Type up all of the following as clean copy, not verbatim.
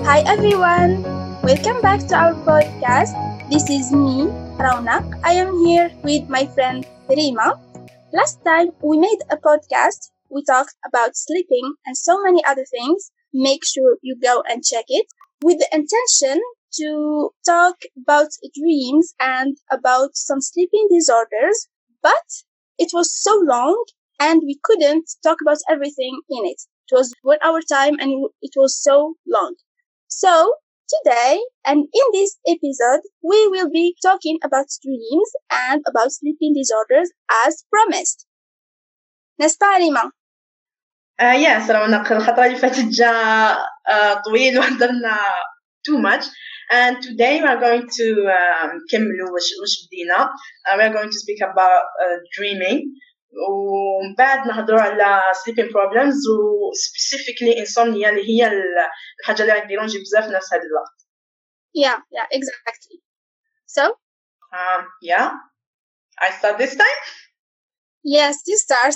Hi everyone! Welcome back to our podcast. This is me, Raunak. I am here with my friend Rima. Last time we made a podcast. We talked about sleeping and so many other things. Make sure you go and check it with the intention to talk about dreams and about some sleeping disorders. But it was so long and we couldn't talk about everything in it. It was 1 hour time and it was so long. So today and in this episode, we will be talking about dreams and about sleeping disorders as promised. نسمع ريما. Yes, رونق الخطرة اللي فاتت جا طويل وهدرنا too much, and today we are going to كملوا وش بدينا. We are going to speak about dreaming, وبعد نهضروا على sleeping problems و specifically insomnia اللي هي الحاجة اللي غاديرونجي بزاف ناس هاد الوقت. Yeah, exactly. So? Yeah, I start this time? Yes, you start.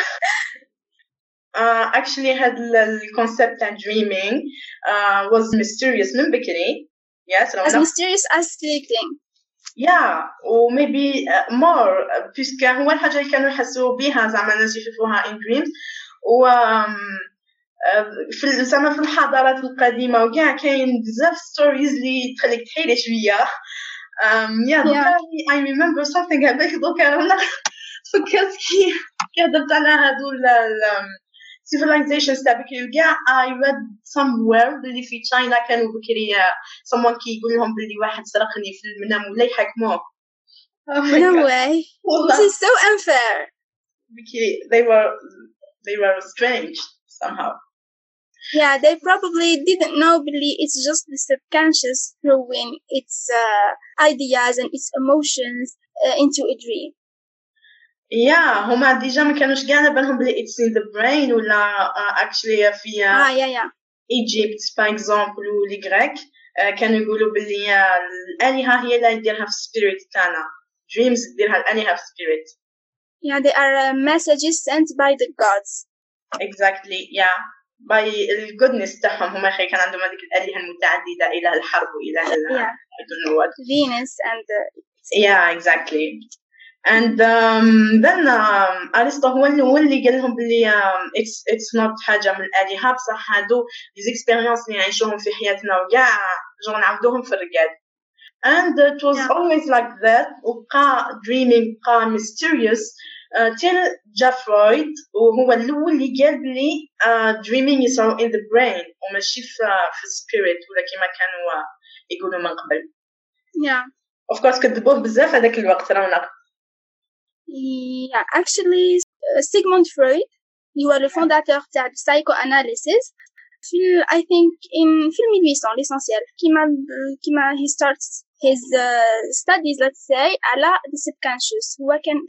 Actually had the concept and dreaming was mysterious من بكري. Yes, as mysterious as sleeping. Yeah, or maybe more puisque هو الحاجة اللي كانوا يحسوا بها زعما الناس يشوفوها in dreams و في زعما في الحضارات القديمة وكاع كاين بزاف stories اللي تخليك تحيري شوية. Yeah. I remember something هذاك دوكا أنا فكرت كي هضرت على هادو civilizations تاع بكري وكاع. I read somewhere باللي في China كانوا بكري someone كي يقول لهم باللي واحد سرقني في المنام ولا يحكموه. No way. This is so unfair. بكري they were strange somehow. Yeah, they probably didn't know باللي it's just the subconscious throwing its ideas and its emotions into a dream. Yeah, هما ديجا ما كانوش قاعدة بالهم بلي it's in the brain ولا actually في yeah. Egypt by example ولا Greek كانوا يقولوا بلي الآلهة هي اللي يديرها في spirit تاعنا. Dreams يديرها الآلهة في spirit. Yeah, they are messages sent by the gods. Exactly, yeah. by الgoodness تاعهم هما خي كان عندهم هذيك الآلهة المتعددة إله الحرب وإله I don't know what. Venus and yeah, exactly. And then أرسطو هو اللي قال لهم بلي it's not حاجة من الآلهة بصح هادو les expériences اللي نعيشوهم في حياتنا وكاع جو نعاودوهم في الرقاد. And it was always like that. وبقى dreaming بقى mysterious till جا فرويد وهو الأول اللي قال بلي dreaming is in the brain وماشي في spirit ولا كما كانوا يقولوا من قبل. Yeah. Of course كذبوه بزاف هذاك الوقت رانا. Yeah, actually, Sigmund Freud, هو le fondateur تاع psychoanalysis. I think في 1800 l'essentiel كيما he starts his studies, let's say, على the subconscious. هو كان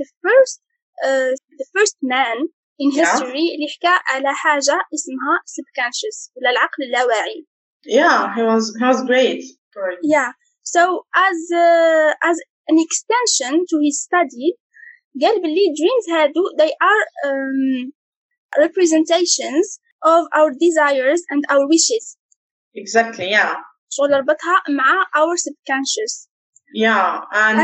the first man in history اللي حكى على حاجة اسمها subconscious ولا العقل اللاواعي. Yeah, he was great. Freud. Yeah, so as an extension to his study, قال بلي dreams هادو they are representations of our desires and our wishes. Exactly, yeah. شغل ربطها مع our subconscious. Yeah, and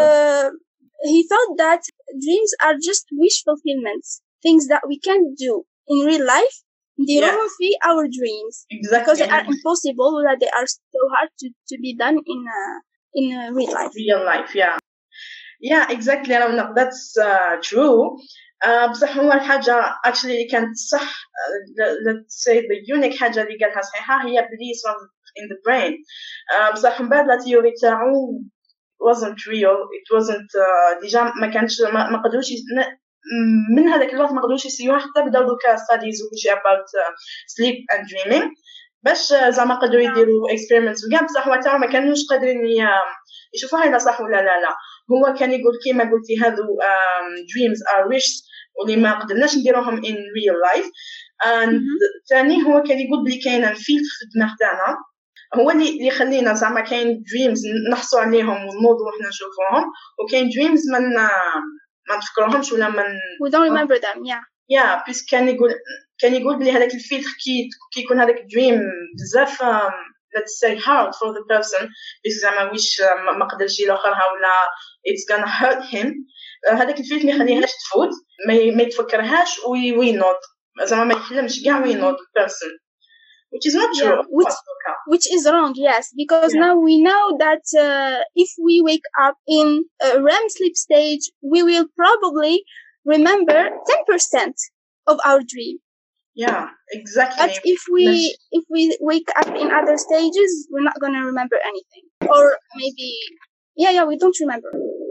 he thought that dreams are just wish fulfillments, things that we can't do in real life. نديروهم في our dreams. Exactly. Because they are impossible, that they are so hard to be done in real life. Real life, yeah. Yeah, exactly. That's true. بصح هو الحاجة actually اللي كانت صح let's say the unique حاجة اللي قالها صحيحة هي بلي in the brain. بصح من بعد لا تيوري تاعو wasn't real. It wasn't ديجا ما كانش ما قدروش من هذاك الوقت ما قدروش يسيوها حتى بداو دوكا studies وكلشي about sleep and dreaming باش زعما قدروا يديروا experiments وكاع بصح هو تاعو ما كانوش قادرين يشوفوها إذا صح ولا لا. هو كان يقول كيما قلتي هذو dreams are wishes واللي ما قدرناش نديروهم in real life. and ثاني هو كان يقول بلي كاين الفيلتر في الدماغ تاعنا هو اللي يخلينا زعما كاين dreams نحصوا عليهم ونوضوا وحنا نشوفوهم وكاين dreams ما نفكروهمش ولا we don't remember them. yeah بس كان يقول بلي هذاك الفيلتر كي يكون هذاك دريم بزاف let's say hard for the person because زعما ويش ما قدرش يلوخرها ولا it's gonna hurt him. هذاك الفيلم ما يخليهاش تفوت ما يتفكرهاش وينوض زعما ما يحلمش كاع وينوض person, which is not true. Which is wrong, yes, because now we know that if we wake up in a REM sleep stage, we will probably remember 10% of our dream. Yeah, exactly. But if we wake up in other stages, we're not gonna remember anything, or maybe we don't remember.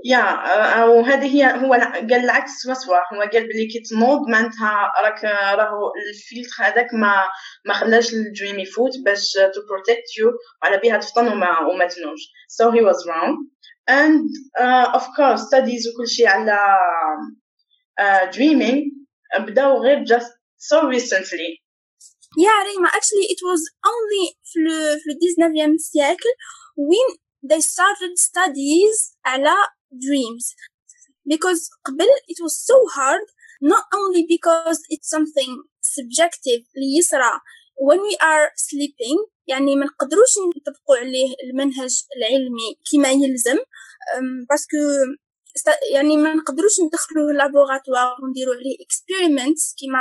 وهذه هي هو قال العكس وسوا هو قال بلي كي تنوض معناتها راهو الفلتر هذاك ما خلاش الدريم يفوت باش to protect you وعلى بها تفطن وما تنومش. So he was wrong. And of course studies وكل شيء على dreaming بداو غير just so recently. ريما, actually it was only في ال 19e siècle when they started studies على dreams, because قبل it was so hard, not only because it's something subjective اللي يصرى when we are sleeping, يعني ما نقدروش نطبقوا عليه المنهج العلمي كما يلزم باسكو يعني ما نقدروش ندخلوه لابوغاتوار ونديروا عليه experiments كما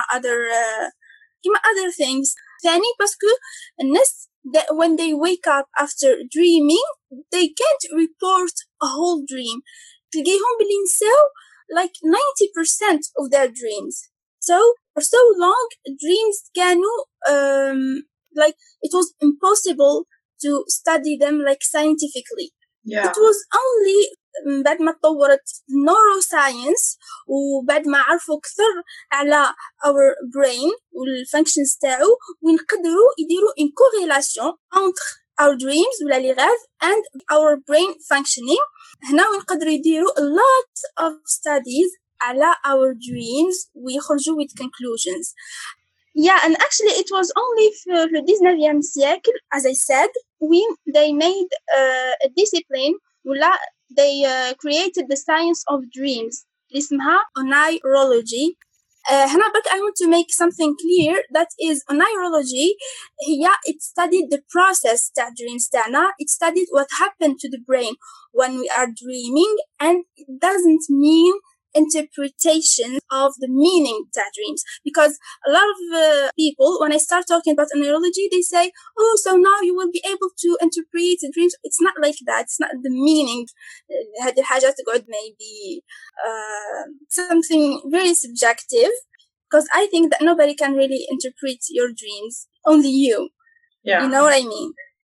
other things. ثاني باسكو الناس that when they wake up after dreaming they can't report a whole dream. تلقيهم بلي نساو like 90% of their dreams. So for so long dreams كانوا like it was impossible to study them like scientifically. It was only بعد ما تطورت neuroscience وبعد ما عرفوا أكثر على our brain والfunctions تاعو ونقدروا يديروا une corrélation entre our dreams ولا les rêves and our brain functioning. هنا ونقدروا يديروا a lot of studies على our dreams ويخرجوا with conclusions. And actually it was only for the 19e siècle, as I said, when they made a discipline ولا they created the science of dreams اللي اسمها onirology. هنا but I want to make something clear, that is onirology هي it studied the process تاع dreams تاعنا, it studied what happened to the brain when we are dreaming, and it doesn't mean interpretation of the meaning of dreams, because a lot of people when I start talking about neurology they say, oh, so now you will be able to interpret the dreams. It's not like that. It's not the meaning. هذه الحاجات تقعد maybe something very subjective, because I think that nobody can really interpret your dreams, only you. You know what I mean?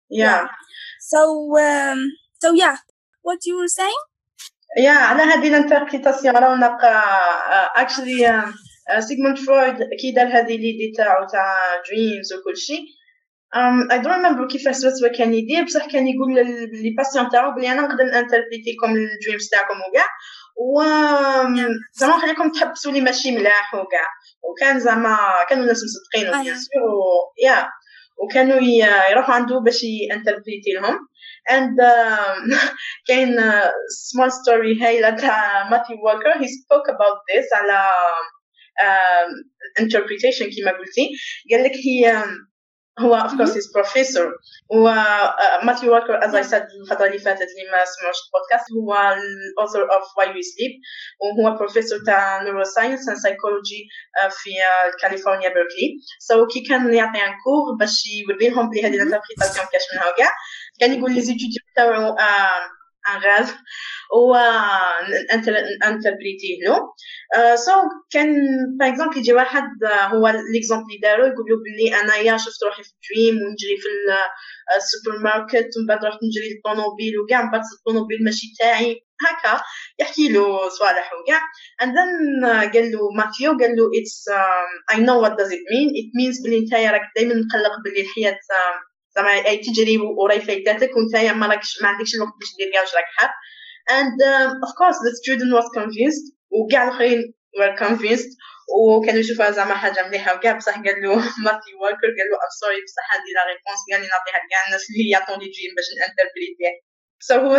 So what you were saying? على هذه الانتربريتاسيون رونق actually سيغموند فرويد كي دار هذه ليدي تاعو تاع دريمز وكل شيء. I don't remember كيفاش سوا كان يدير, بصح كان يقول لي باسيون تاعو بلي انا نقدر انتربريتي لكم الدريمز تاعكم وكاع و زعما نخليكم تحبسوا لي ماشي ملاح وكاع, وكان زعما كانوا الناس مصدقين بيان سور وكانوا يروحوا عنده باش ينتربريتي لهم. And كاين small story هايلة تاع ماثيو والكر, he spoke about this على interpretation كما قلتي. قال لك هو of course he's professor, و ماثيو والكر as I said الفترة اللي فاتت اللي ما سمعوش البودكاست هو ال author of Why We Sleep, وهو professor تاع neuroscience and psychology في كاليفورنيا بيركلي. So كي كان يعطي عن كور باش يوري لهم بلي هذه الانتربريتاسيون كاش منها وكاع, كان يقول لي زيتيديو تاعو ان غاز و انتربريتيه له. سو كان باغ اكزومبل يجي واحد هو ليكزومبل اللي دارو يقول له بلي انايا شفت روحي في دريم ونجري في السوبر ماركت ومن بعد رحت نجري للطوموبيل وكاع, من بعد الطوموبيل ماشي تاعي, هكا يحكي له صوالح وكاع. and then قال له ماثيو, قال له it's I know what does it mean, it means بلي نتايا راك دائما مقلق بلي الحياه زعما اي تجري وراي فايتاتك وانتايا ما عندكش الوقت باش دير كاع واش راك حاب. and of course the student was convinced وكاع الاخرين were convinced وكانوا يشوفوها زعما حاجه مليحه وكاع, بصح قال له ماثيو والكر قال له I'm sorry بصح هذه لا ريبونس كاع اللي نعطيها لكاع الناس اللي يعطوني دريم باش نانتربريتيه. so هو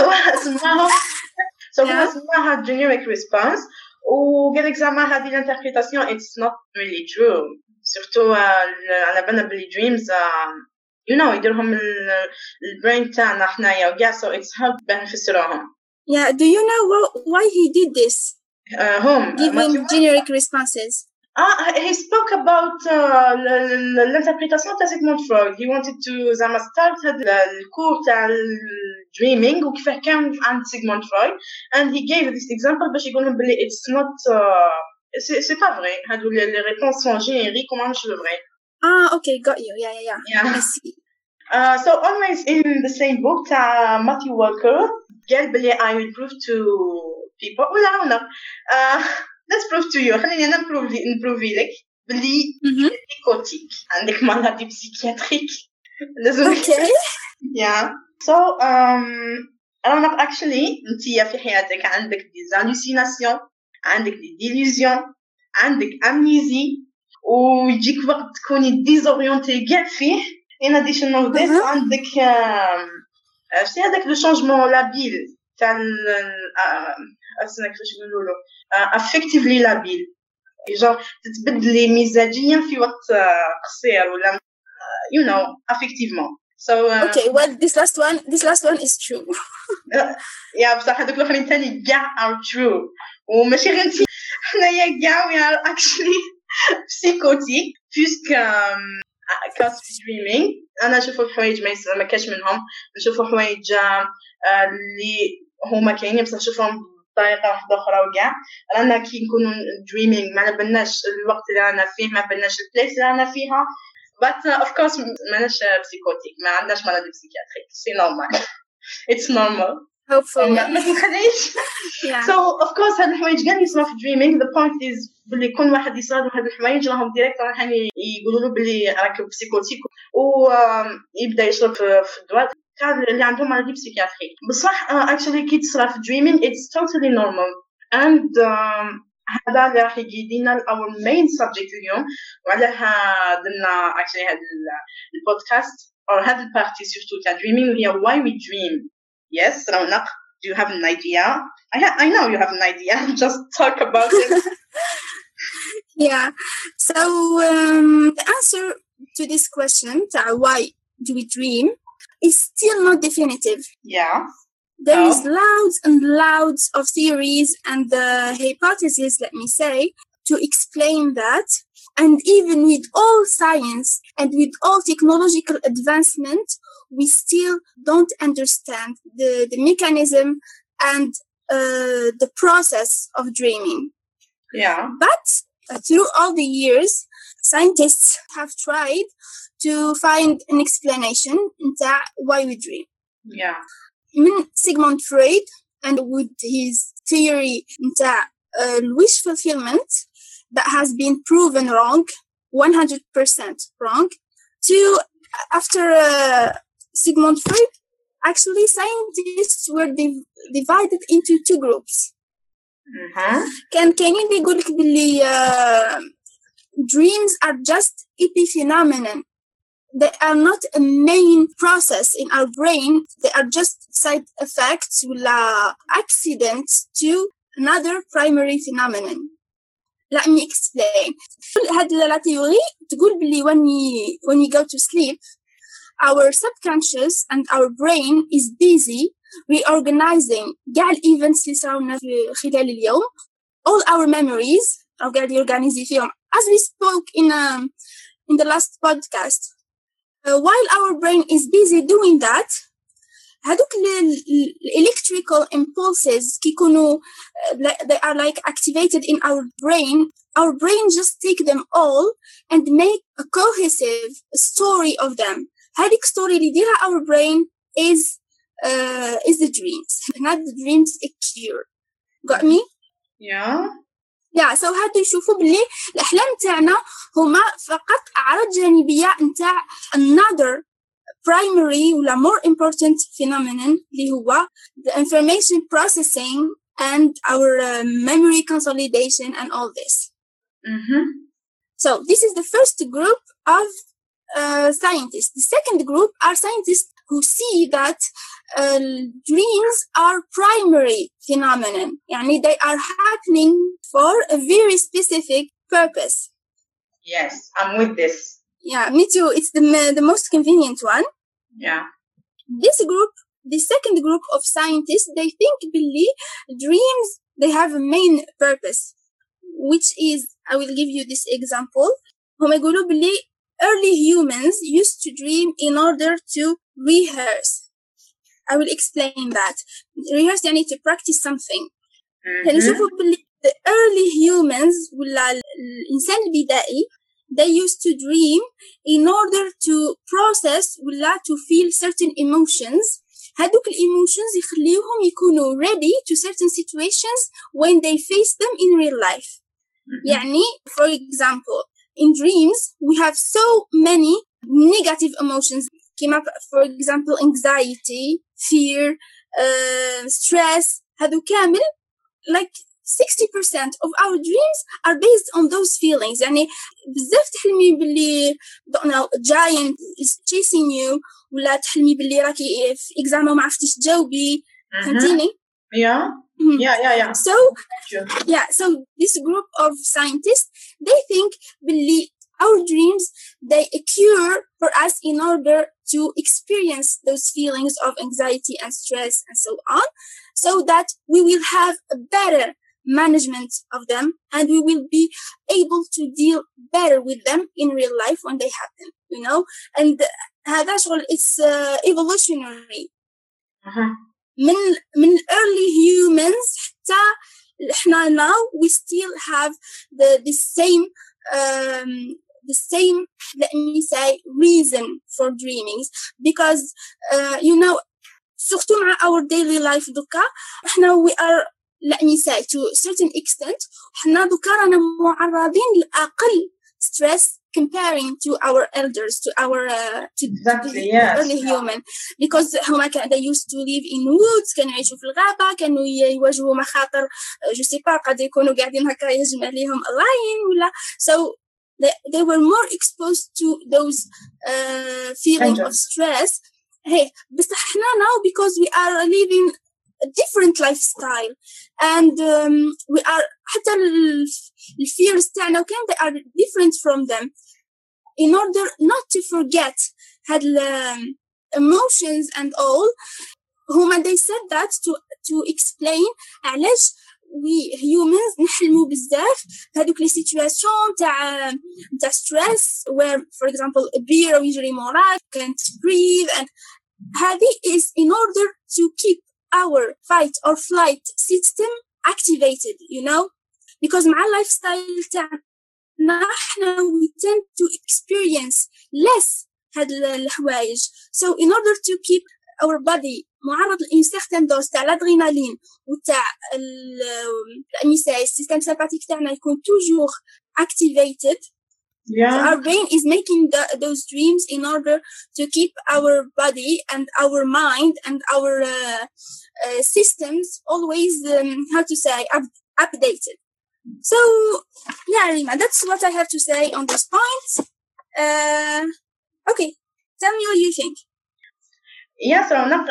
سماها generic response, وقال لك زعما هذه الانتربريتاسيون it's not really true, surtout على بالنا بلي dreams يديرهم البرين تاعنا حنايا وكاع so it's help باه نفسروهم. Yeah, do you know why he did this? Home Giving generic responses. He spoke about l'interprétation تاع Sigmund Freud. He wanted to زعما start هذا الكور تاع dreaming وكيفاه كان عند Sigmund Freud, and he gave this example باش يقولهم بلي it's not c'est pas vrai. هادو les réponses sont génériques وما مش vrai. Okay, got you. Yeah. I see. So always in the same book تاع Matthew Walker قال بلي I will prove to people ولا let's prove to you. خليني أنا نبروفي لك بلي psychotic عندك maladie psychiatrique لازم. Okay. Yeah. So أنا actually أنتي في حياتك عندك des hallucinations, عندك des delusions, عندك amnésie ويجيك وقت تكوني désorienté كاع فيه. In addition of this عندك شتي هذاك لو شونجمون لابيل تاع أصلا كيفاش يقولوا له affectively لابيل, genre تتبدلي مزاجيا في وقت قصير ولا affectivement. So okay, well this last one is true. يا بصح هذوك الاخرين تاني كاع are true وماشي غير انتي حنايا كاع we are actually psychotic puisque كاس في dreaming. أنا أشوف حوايج ما كاش منهم, نشوف حوايج اللي هما كاينين بس نشوفهم بطريقة واحدة أخرى وكاع. رانا كي نكونوا dreaming ما نبناش الوقت اللي رانا فيه, ما بناش البلايس اللي رانا فيها, but of course ماناش psychotic, ما عندناش maladie psychiatrique, c'est normal. It's normal. Hopefully. ما تنخدعيش. Yeah. So of course هاد الحوايج كاع يصرا في dreaming. The point is بلي كل واحد يصرا هاد الحوايج راهم ديريكت راح يقولوا له بلي راك بسيكوتيك ويبدا يشرب في الدواء تاع اللي عندهم مالادي بسيكياتريك. بصح actually كي تصرا في dreaming it's totally normal, and هذا اللي راح يجينا our main subject اليوم, وعلاه درنا actually هاد البودكاست or هاد البارتي سورتو تاع dreaming وهي why we dream. Yes, Raunak, do you have an idea? I know you have an idea. Just talk about it. Yeah. So the answer to this question, why do we dream, is still not definitive. Yeah. There is loads and loads of theories and hypotheses, let me say, to explain that. And even with all science and with all technological advancement, we still don't understand the mechanism and the process of dreaming. Yeah. But through all the years, scientists have tried to find an explanation into why we dream. Yeah. Sigmund Freud, and with his theory into wish fulfillment, that has been proven wrong, 100% wrong. After Sigmund Freud, actually scientists were divided into two groups. كان كاينين اللي يقولك باللي dreams are just epiphenomenon. They are not a main process in our brain. They are just side effects ولا accidents to another primary phenomenon. Let me explain. هاد la theory تقول باللي when we go to sleep, our subconscious and our brain is busy reorganizing كاع الإيفنتس اللي صراونا خلال اليوم, all our memories أو قاعد يorganize فيهم, as we spoke in the last podcast. While our brain is busy doing that, هادوك electrical impulses كيكونوا they are like activated in our brain just take them all and make a cohesive story of them. هاديك story اللي يديرها our brain is the dreams, not the dreams occur. Got me? Yeah, so هادو يشوفوا بلي الأحلام تاعنا هما فقط أعراض جانبية نتاع another primary ولا more important phenomenon اللي هو the information processing and our memory consolidation and all this. So this is the first group of scientists. The second group are scientists who see that dreams are primary phenomenon. يعني they are happening for a very specific purpose. Yes, I'm with this. Yeah, me too. It's the most convenient one. Yeah. The second group of scientists, they think Billy, dreams, they have a main purpose, which is, I will give you this example. هم يقولوا Billy, early humans used to dream in order to rehearse. I will explain that. Rehearse يعني to practice something. يعني شوفوا Billy, the early humans ولا الإنسان البدائي, they used to dream in order to process ولا to feel certain emotions. هادوك emotions يخليوهم يكونوا ready to certain situations when they face them in real life. يعني, for example, in dreams, we have so many negative emotions. For example, anxiety, fear, stress. هادو كامل, like 60% of our dreams are based on those feelings. يعني بزاف تحلمي باللي a giant is chasing you, ولا تحلمي باللي راكي في exam وما عرفتيش تجاوبي. فهمتيني؟ Yeah. So this group of scientists, they think باللي our dreams, they occur for us in order to experience those feelings of anxiety and stress and so on, so that we will have a better management of them and we will be able to deal better with them in real life when they happen, you know. And هذا شغل, it's evolutionary. من early humans حتى احنا now we still have the same, let me say, reason for dreaming, because you know, surtout مع our daily life دوكا احنا we are, let me say, to a certain extent احنا دوكا رانا معرضين لأقل stress comparing to our elders, to our exactly, early human, because هما they used to live in woods, كانوا يعيشوا في الغابة, كانوا يواجهوا مخاطر je sais pas, قد يكونوا قاعدين هكا يهجم عليهم lion ولا, so they were more exposed to those feeling of stress. Hey, بس احنا now, because we are living a different lifestyle and we are حتى الfears تاعنا وكان they are different from them. In order not to forget had emotions and all, هما they said that to explain علاش we humans نحلموا بزاف هذوك لي سيتوياسيون تاع stress where, for example, a bear يجري موراك, can't breathe, and هذه is in order to keep our fight or flight system activated, you know, because مع lifestyle تاعنا احنا we tend to experience less هاد الحوايج. So in order to keep our body معرض لإن certain dose تاع الأدرينالين وتاع السيستم sympathetic تاعنا يكون toujours activated. So our brain is making those dreams in order to keep our body and our mind and our systems always, how to say, updated. So, yeah, Rima, that's what I have to say on this point. Okay, tell me what you think. Yes, رونق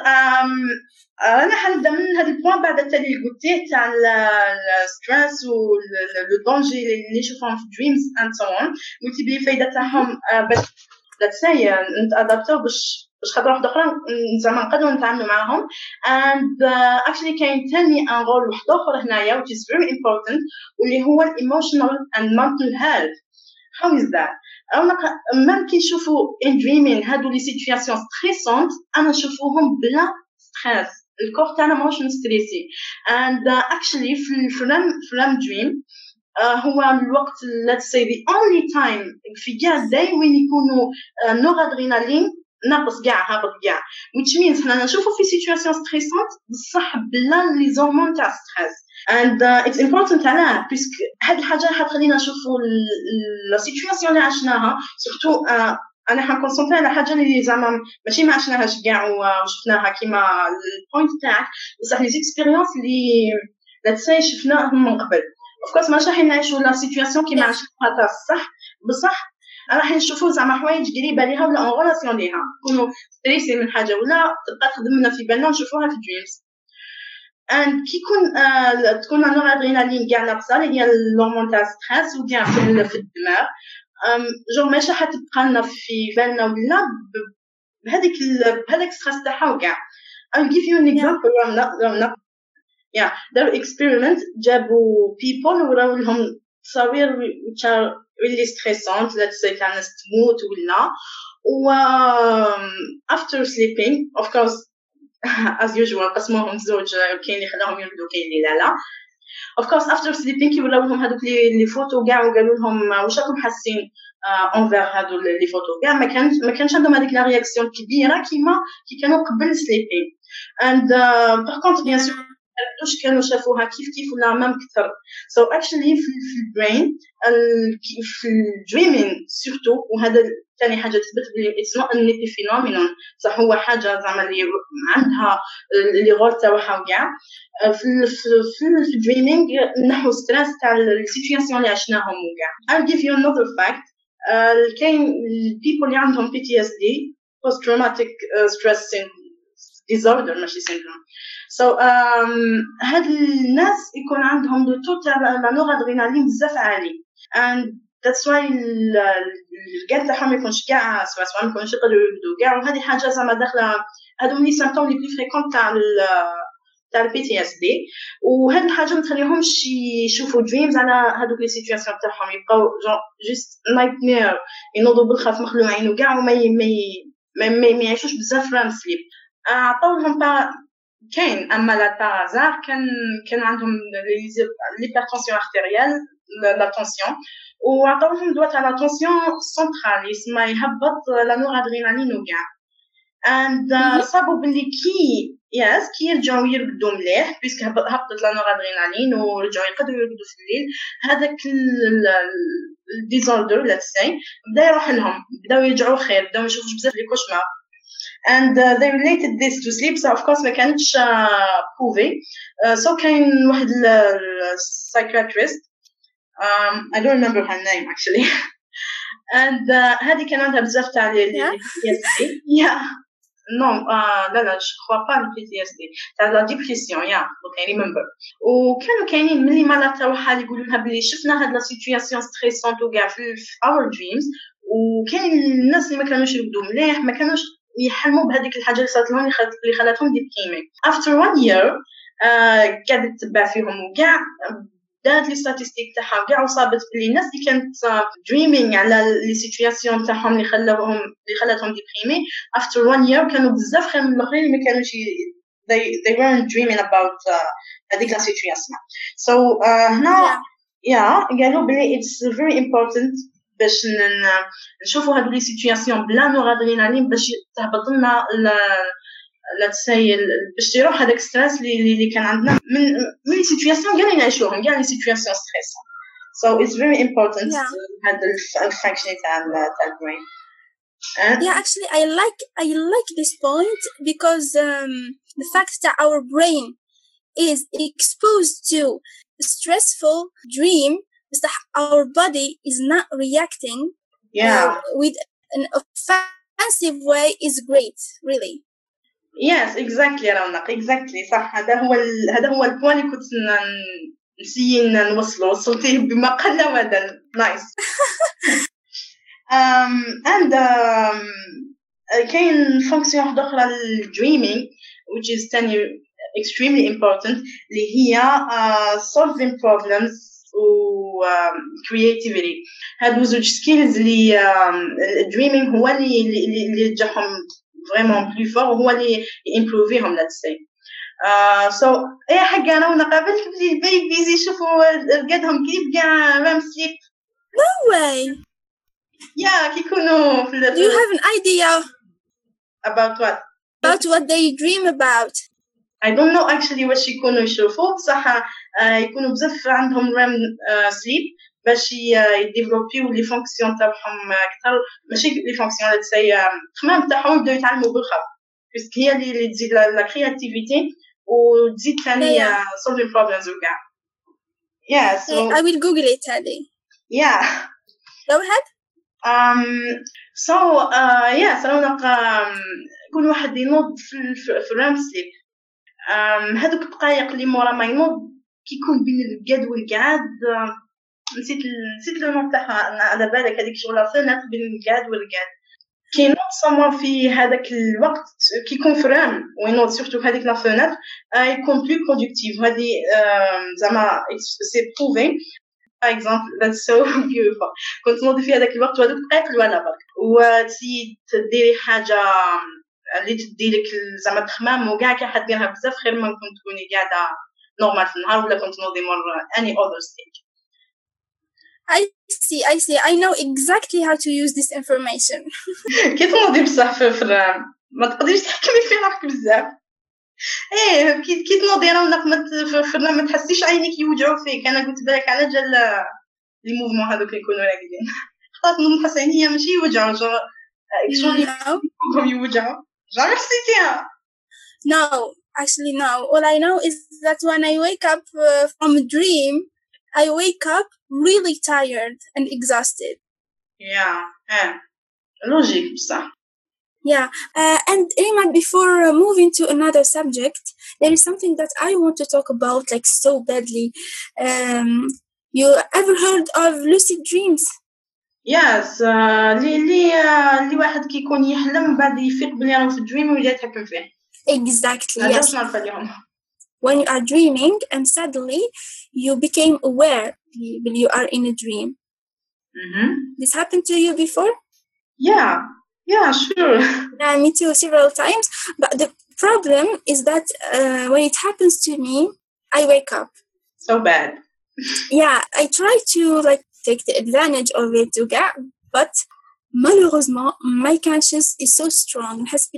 أنا حنبدأ من هذا البوان بعد التالي اللي قلتيه تاع الستريس والدونجي اللي نشوفهم في dreams and so on. قلتي بلي الفايدة تاعهم باش let's say نتأدابتو باش خاطر واحد أخرى زعما نقدروا نتعاملوا معاهم. And actually كاين تاني ان رول واحد آخر هنايا which is very important واللي هو emotional and mental health. How is that? مام كي نشوفوا in dreaming هادو لي سيتوياسيون ستريسونت أنا نشوفوهم بلا ستريس, الكور تاعنا ماهوش مستريسي. and actually في REM dream هو الوقت let's say the only time في كاع day وين يكونوا نورادرينالين ناقص كاع هابط كاع, which means حنا نشوفوا في سيتوياسيون ستريسونت بصح بلا لي زورمون تاع ستريس. and it's important علاه بيسك هاد الحاجه حتخلينا نشوفوا لا سيتوياسيون اللي عشناها سورتو. انا حنكونسونطري على حاجه اللي زعما ماشي ما عشناهاش كاع وشفناها كيما البوينت تاعك, بصح لي زيكسبيريونس اللي let's say شفناهم من قبل. of course ماشي راح نعيشوا لا سيتوياسيون كيما عشناها تاع الصح, بصح راح نشوفوا زعما حوايج قريبه ليها ولا اون ريلاسيون ليها, نكونوا ستريسي من حاجه ولا تبقى تخدمنا في بالنا نشوفوها في دريمز. and كي تكون النورادرينالين كاع ناقصه اللي هي الهرمون تاع ستريس وكاع في الدماغ, جو ماشي حتبقى لنا في بالنا ولا بهذاك ستريس تاعها وكاع. I'll give you an example. رمنا yeah their experiment جابوا people وراو لهم تصاوير which are really stressant, let's say تاع ناس تموت ولا و after sleeping of course as usual قسموهم زوج, كاين اللي خلاهم يرقدوا كاين اللي لا. of course after sleeping كيولاو لهم هذوك لي فوتو كاع وقالوا لهم واش راكم حاسين انفير هادو لي فوتو كاع. ما كانش عندهم هذيك لا رياكسيون كبيره كي كانوا قبل sleeping. and par contre bien sûr واش كانوا شافوها كيف ولا مام كثر. so actually في البرين في الدريمين سورتو, وهذا ثاني حاجه تثبت بلي it's not an phenomenon, صح هو حاجه زعما اللي عندها اللي غول تاعها وكاع. في الدريمينغ نحو ستريس تاع السيتوياسيون اللي عشناهم وكاع. I'll give you another fact. كاين people اللي عندهم PTSD, post traumatic stress disorder ماشي syndrome. so هاد الناس يكون عندهم لو تو تاع لا نورادرينالين بزاف عالي, and that's why الرقاد تاعهم يكونش كاع سواء ما يكونش يقدروا يرقدوا كاع. وهذه حاجه زعما داخله هادو لي سيمبتوم لي بلي فريكونت تاع البي تي اس دي. وهاد الحاجه ما تخليهمش يشوفوا دريمز على هادوك لي سيتوياسيون تاعهم, يبقاو جوست نايت مير, ينوضوا بالخاف مخلوعين وكاع وما ما يعيشوش بزاف رام سليب. عطاولهم كاين اما لا بارازار كان عندهم ليبرتونسيون ارتيريال لا تونسيون, وعطاولهم دواء تاع لا تونسيون سنترال يسمى يهبط لا نورادرينالين وكاع. and صابوا باللي كي يرجعوا يرقدوا مليح بيسك هبطت لا نورادرينالين ورجعوا يقدروا يرقدوا في الليل, هذاك الديزوردر let's say بدا يروح لهم, بداو يرجعوا خير, بداو يشوفوا بزاف لي كوشمار. and they related this to sleep, so of course ما كانتش proved. so كاين واحد psychiatrist, I don't remember her name actually. and هذه كان عندها بزاف تاع PTSD. non لا je crois pas le PTSD, تاع la dépression donc I remember. وكانوا كاينين ملي مرات تاعها يقولوا لها بلي شفنا هاد لا سيتوياسيون ستريسونت وكاع في our dreams, وكاين الناس اللي ما كانوش يرقدوا مليح, ما كانوش يحلموا بهذيك الحاجه اللي صارت لهم اللي خلاتهم ديبريمي. after 1 year قاعده تتبع فيهم وكاع, دات لي ستاتستيك تاعها وكاع, وصابت بلي الناس اللي كانت دريمينغ على لي سيتوياسيون تاعهم اللي خلاتهم ديبريمي after 1 year كانوا بزاف خير من الاخرين اللي ما كانوش they weren't dreaming about هذيك لا سيتوياسيون. so هنا قالوا بلي it's very important باش نشوفوا هاد لي سيتوياسيون بلا نورادرينالين باش تهبط لنا let's say باش يروح هذاك ستريس اللي كان عندنا من لي سيتوياسيون كاع اللي نعيشوهم, كاع لي سيتوياسيون ستريس. so it's very important هذا الفانكشن تاع البرين. actually I like this point because the fact that our brain is exposed to stressful dream, our body is not reacting with an offensive way is great really. yes exactly رونق exactly صح. هذا هو البوين اللي كنت نسيي وصلتيه بما قل ودل. nice. and كاين فونكسيون واحده اخرى للدريمينغ which is extremely important اللي هي solving problems و creativity. هادو زوج سكيلز اللي الدريمينغ هو اللي يرجعهم vraiment plus fort, وهو اللي يمبروفيهم let's say. so اي حاجه انا ونقابلت بلي البيبيز يشوفوا رقادهم كيف كاع رام سليب. no way. كي يكونوا في do you have an idea about what they dream about? I don't know actually واش يكونوا يشوفوا بصح يكونوا بزاف عندهم رام سليب باش يديفلوبيو لي فونكسيون تاعهم اكثر, ماشي لي فونكسيون let's say التخمام تاعهم يبداو يتعلموا بالخف باسكو هي اللي تزيد لا كرياتيفيتي وتزيد ثاني solving problems وكاع. so I will google it هذه. go ahead. so كل واحد ينوض في الرام سليب, هذوك الدقائق اللي مورا ما ينوض كيكون بين الرقاد والقعاد نسيت لو نون تاعها. أنا على بالك هذيك شغله فنت بين القعد والقعد كي نوض سما في هذاك الوقت كي كونفيرم وينوض سورتو هذيك لا فنت يكون بلو برودكتيف. هذه زعما سي بروفي. باغ اكزومبل that's so beautiful. كنت نوضي في هذاك الوقت وهذوك دقائق الوالا برك وتسي تديري حاجه اللي تديلك زعما تخمام وكاع كي حد ديرها بزاف خير ما كنت تكوني قاعده نورمال في النهار ولا كنت نوضي مور any other stage. I see. I know exactly how to use this information. كي تنوضي بصح في الرام ما تقدريش تحكمي في روحك بزاف. ايه كي تنوضي راه في الرام ما تحسيش عينيك يوجعوا فيك. انا قلت بالك على جال لي موفمون هذوك اللي يكونوا راقدين خلاص نحس عينيا ماشي يوجعوا جو شلون يكونوا يوجعوا جامي حسيتيها. No, actually no. All I know is that when I wake up from a dream, I wake up really tired and exhausted. Yeah, logic بصح. Yeah, and Rima, before moving to another subject, there is something that I want to talk about like so badly. You ever heard of lucid dreams? Yes, اللي واحد كيكون يحلم بعد يفيق بلي راه في دريم ويبدا يتحكم فيه. Exactly, yes. نعرف اليوم. When you are dreaming and suddenly you became aware that you are in a dream. Mm-hmm. This happened to you before? Yeah, sure. Yeah, me too, several times. But the problem is that when it happens to me, I wake up. So bad. Yeah, I try to like take the advantage of it to get, but malheureusement my conscience is so strong.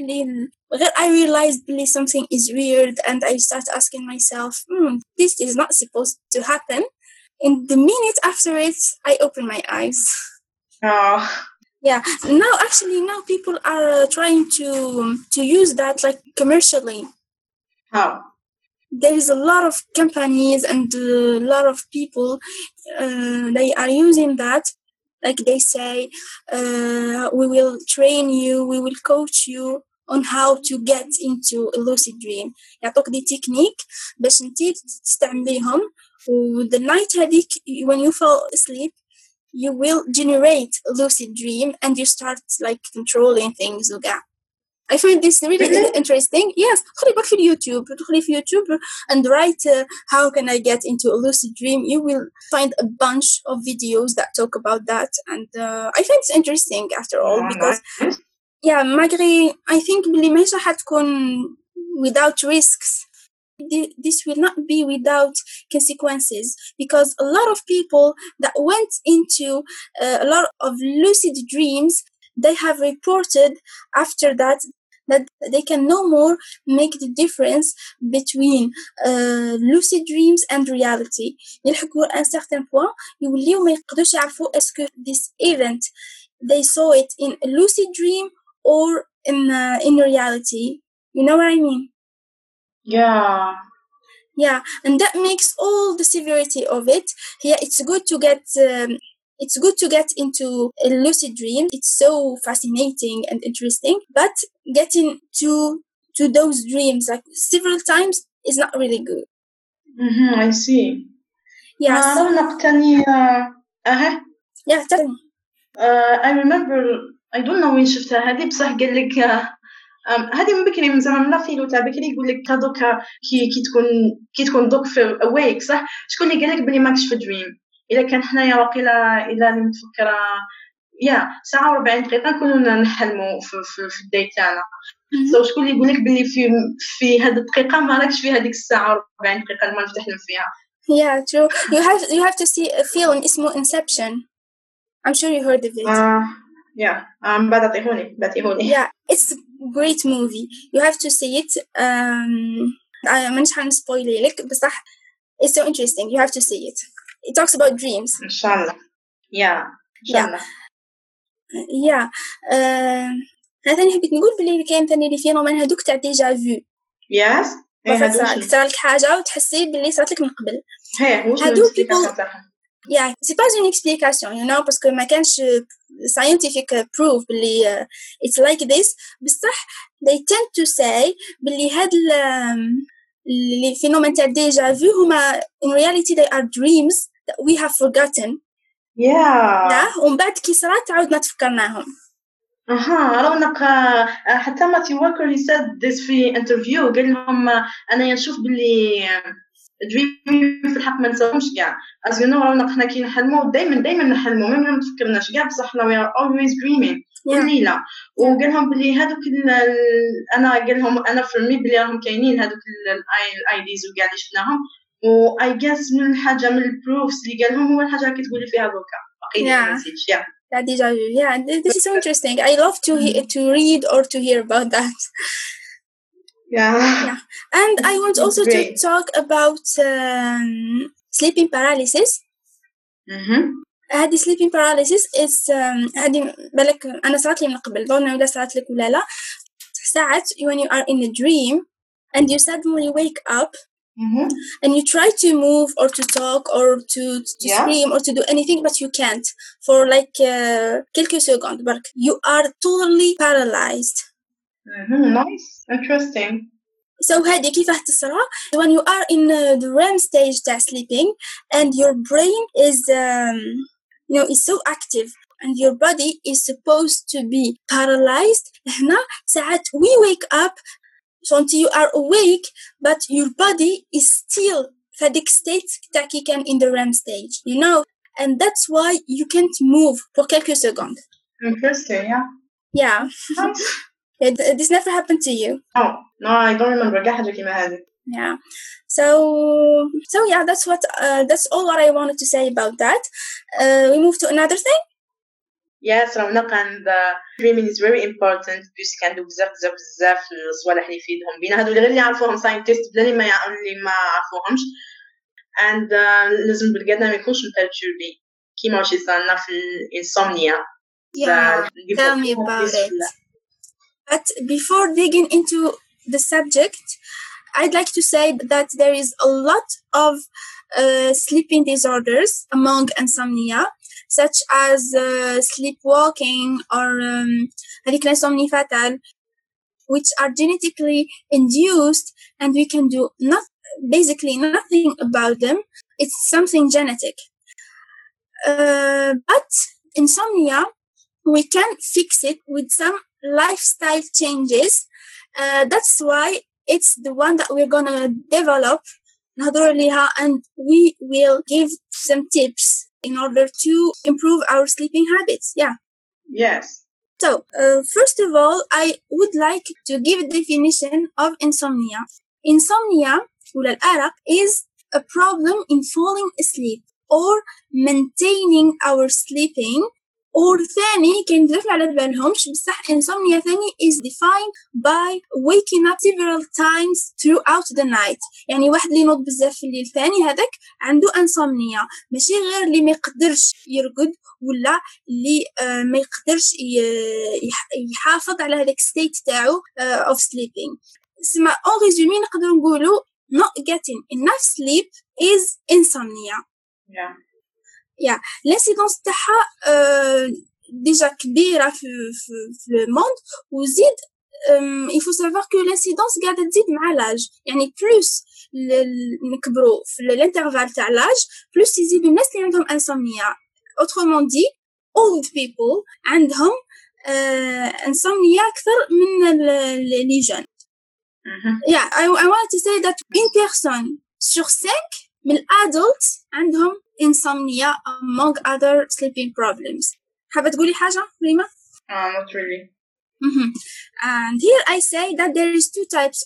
I realized something is weird and I start asking myself, this is not supposed to happen. In the minute after it, I open my eyes. Oh. Yeah, now people are trying to use that like commercially. How? There is a lot of companies and a lot of people, they are using that. Like they say, we will train you, we will coach you on how to get into a lucid dream. يعطوك دي تكنيك باش انتي تستعمليهم the night هذيك when you fall asleep you will generate a lucid dream and you start like controlling things وكاع. I find this really interesting. Yes, تدخلي في YouTube and write how can I get into a lucid dream. You will find a bunch of videos that talk about that, and I find it's interesting after all because malgré I think بلي ماشي حتكون without risks. This will not be without consequences because a lot of people that went into a lot of lucid dreams, they have reported after that they can no more make the difference between lucid dreams and reality. يلحقوا à un certain point يوليو ما يقدرش يعرفوا est-ce que this event they saw it in a lucid dream or in reality. You know what I mean? Yeah, and that makes all the severity of it. Yeah, it's good to get into a lucid dream. It's so fascinating and interesting, but getting to those dreams like several times is not really good. I see. Yes. Yeah, tell me. I remember I don't know وين شفتها هذه بصح قال لك هذه من بكري من زمان لا فيلو تاع بكري يقول لك هذوك كي تكون دوك في awake صح شكون اللي قال لك بلي ماكش في دريم. الا كان حنايا واقيلا الا متفكره ساعه و40 دقيقه كنا نحلموا في الداي تاعنا. شكون اللي يقول لك بلي في هذه الدقيقه ما راكش في هذيك الساعه و40 دقيقه اللي ما نفتحلم فيها. Yeah, true. You have to see a film اسمه Inception. I'm sure you heard of it. بعطيهوني. Yeah, it's a great movie. You have to see it. مانيش حنسبويلي لك بصح it's so interesting. You have to see it. It talks about dreams. إن شاء الله. Yeah. هذا اللي حبيت نقول بلي كاين ثاني لي فينومين هذوك تاع ديجا فيو. Yes. صار لك حاجة وتحسي بلي صارت لك من قبل. هادو people. Yeah, c'est pas une explication, you know, parce que ما كانش scientific proof بلي it's like this. بصح they tend to say بلي هاد les phénomènes تاع déjà vu هما in reality they are dreams that we have forgotten yeah ومن بعد كي صرات عاودنا تفكرناهم. رونق حتى ماتي والكر he said this في interview قال لهم أنا نشوف باللي dreaming في الحق ما نساهمش كاع as you know رونق حنا كي نحلموا دايما نحلموا ما تفكرناش كاع بصح we are always dreaming كل ليلة. وقال لهم باللي هذوك أنا قال لهم أنا في المي باللي راهم كاينين هذوك الايديز وكاع اللي شفناهم و I guess من الحاجة من البروفs اللي قال لهم هو الحاجة اللي تقولي فيها دوكا باقي message yeah this is so interesting. I love to read or to hear about that. Yeah. And I want also to talk about sleeping paralysis. هذه sleeping paralysis is هذه بالك أنا صارت لي من قبل ظن ولا صارت لك ولا لا ساعات when you are in a dream and you suddenly wake up and you try to move or to talk or to scream or to do anything but you can't for like quelques secondes but you are totally paralyzed. Nice, interesting. So هذه كيفاه تصرى when you are in the REM stage تاع sleeping and your brain is is so active and your body is supposed to be paralyzed. هنا ساعات we wake up so until you are awake but your body is still في هذيك state تاع كي كان in the REM stage and that's why you can't move for quelques seconds. Interesting. Yeah. This never happened to you? No, I don't remember. Yeah. So yeah, that's all what I wanted to say about that. We move to another thing. Yes, رونق and dreaming is very important because كندو بزاف الصوالح اللي يفيدهم بينا هادو اللي يعرفوهم scientists بلا اللي ما عرفوهمش and لازم بالقدنا ما يكونش مترجبي كيما واش يصيرنا في الانسومنيا. Yeah, tell me about it. But before digging into the subject, I'd like to say that there is a lot of sleeping disorders among insomnia, such as sleepwalking or هذيك l'insomnie fatale, which are genetically induced and we can do basically nothing about them. It's something genetic. But insomnia, we can fix it with some lifestyle changes. That's why it's the one that we're gonna develop and we will give some tips in order to improve our sleeping habits. Yes. So first of all, I would like to give a definition of insomnia. Insomnia الأرق is a problem in falling asleep or maintaining our sleeping. or ثاني كان ندرك على بالهمش بصح insomnia ثاني is defined by waking up several times throughout the night. يعني واحد اللي ينوض بزاف في الليل ثاني هذاك عنده insomnia ماشي غير اللي ما يقدرش يرقد ولا اللي ما يقدرش يحافظ على هذاك state تاعو of sleeping. اسمع en résumé نقدر نقولوا not getting enough sleep is insomnia. Yeah. l'incidence تاعها déjà كبيرة في le monde وزيد il faut savoir que l'incidence قاعدة تزيد مع l'âge يعني plus نكبروا في l'intervalle تاع l'âge plus يزيدوا الناس اللي عندهم insomnia. autrement dit old people عندهم insomnia أكثر من les jeunes. Yeah, I wanted to say that une personne sur 5 من adults عندهم insomnia among other sleeping problems. حابة تقولي حاجة ريما؟ Not really. And here I say that there is two types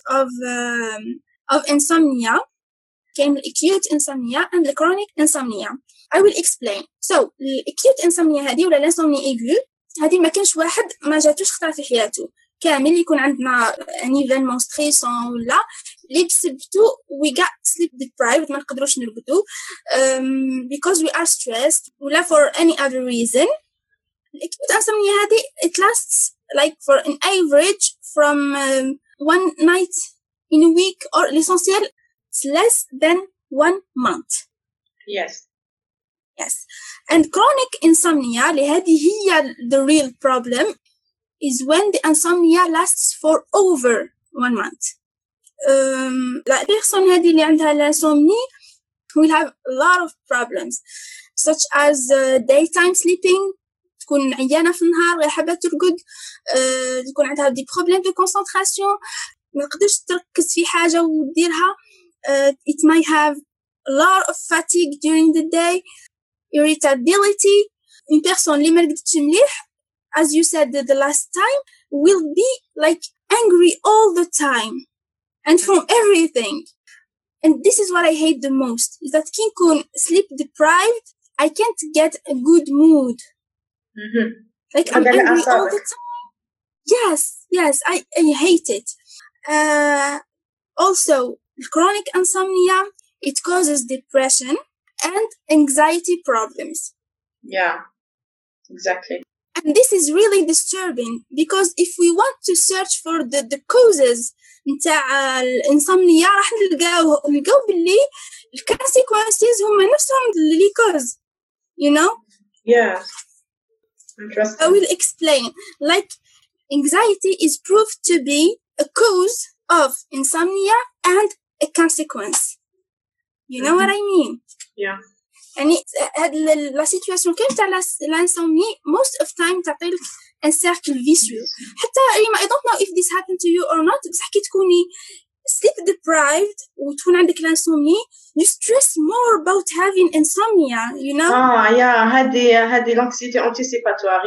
of insomnia, acute insomnia and the chronic insomnia. I will explain. So acute insomnia هذه ولا l'insomnie aiguë هذه ما كانش واحد ما جاتوش خطرة في حياته كامل يكون عندنا un événement stressant ولا اللي بسببتو we got sleep deprived ما نقدروش نرقدو because we are stressed ولا for any other reason. acute insomnia هذه it lasts like for an average from 1 night in a week or l'essentiel it's less than 1 month. Yes. And chronic insomnia اللي هذه هي the real problem is when the insomnia lasts for over 1 month. La personne هذه اللي عندها l'insomnie will have a lot of problems such as daytime sleeping. تكون عيانة في النهار غير حابة ترقد. تكون عندها دي بروبليم دو كونسنتراسيون، ما تقدرش تركز في حاجة وديرها. It might have a lot of fatigue during the day, irritability. Une personne اللي ما رقدتش مليح, as you said the last time, will be like angry all the time and from everything. And this is what I hate the most, is that كي نكون sleep deprived, I can't get a good mood. Like I'm angry all the time. Yes, I hate it. Also, chronic insomnia, it causes depression and anxiety problems. Yeah, exactly. And this is really disturbing, because if we want to search for the causes نتاع الانسomnia راح نلقاو باللي الكونسيكونسز هما نفسهم اللي cause, you know? Yeah. Interesting. I will explain. Like, anxiety is proved to be a cause of insomnia and a consequence. You know what I mean? Yeah. يعني هاد la situation كيف تاع l'insomnie most of time تعطي لك un cercle vicieux. حتى I don't know if this happened to you or not, بس كي تكوني sleep deprived وتكون عندك l'insomnie, you stress more about having insomnia, you know? Yeah, هذه l'anxiété anticipatoire.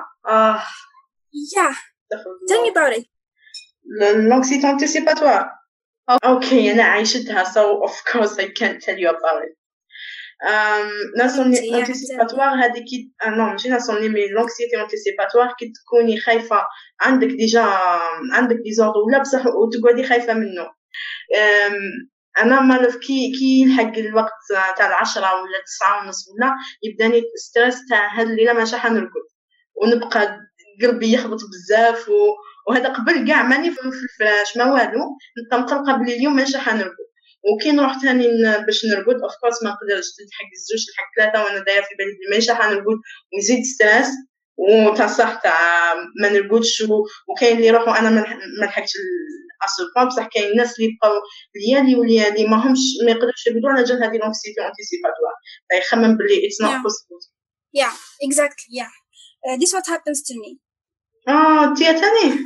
Yeah. Tell me about it. L'anxiété anticipatoire. Okay, أنا عايشتها, so of course I can't tell you about it. l'insomnie anticipatoire هذه كي ماشي l'insomnie mais l'anxiété anticipatoire كي تكوني خايفة, عندك عندك ديزوردر ولا بصح وتقعدي خايفة منه. انا مالف كي يلحق الوقت تاع 10 ولا 9:30 ولا يبداني ستريس تاع هاد الليله ماشي حنرقد ونبقى قلبي يخبط بزاف وهذا قبل كاع ماني في الفراش ما والو, نبقى مقلقه بلي اليوم ماشي حنرقد. وكي نروح ثاني باش نرقد اوف كورس ما نقدرش نلحق الزوج نلحق 3 وانا دايره في بالي بلي ماشي حنرقد ويزيد ستريس وتاع صح تاع ما نرقدش. وكاين اللي يروحوا انا ما لحقتش اصلا, بصح كاين الناس اللي بقاو ليالي ما يقدروش يرقدوا على جال هذه لونكسيتي انتيسيباتوار, يخمم بلي it's not possible. Yeah, exactly. Yeah, this what happens to me. تي ثاني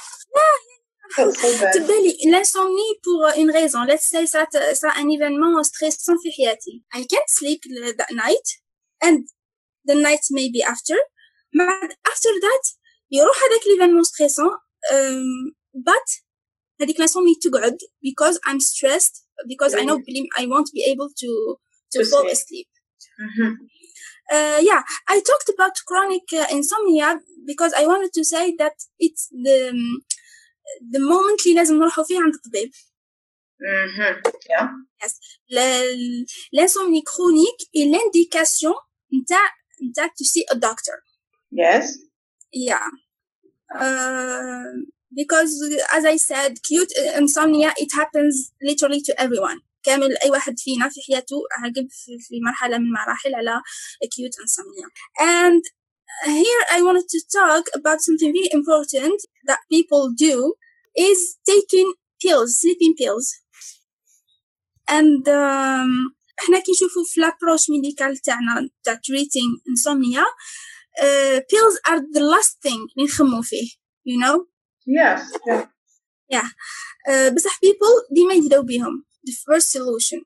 تبدا لي l'insomnie pour une raison. Let's say ça un événement stressant في حياتي. I can't sleep that night and the night maybe after that يروح هذاك l'événement stressant, but هذيك l'insomnie تقعد because I'm stressed, because I know I won't be able to fall asleep. Yeah, I talked about chronic insomnia because I wanted to say that it's the moment اللي لازم نروحوا فيه عند الطبيب. Yeah. Yes. L'insomnie chronique est l'indication نتاع to see a doctor. Yes. Yeah. Because as I said, acute insomnia, it happens literally to everyone. كامل أي واحد فينا في حياته عقب في مرحلة من مراحل على acute insomnia. And here I wanted to talk about something very important that people do is taking pills, sleeping pills. And احنا كي نشوفوا في l'approche médicale تاعنا تاع treating insomnia, pills are the last thing اللي نخمو فيه, you know? Yes. Yeah. بصح people ديما يبداو بيهم the first solution.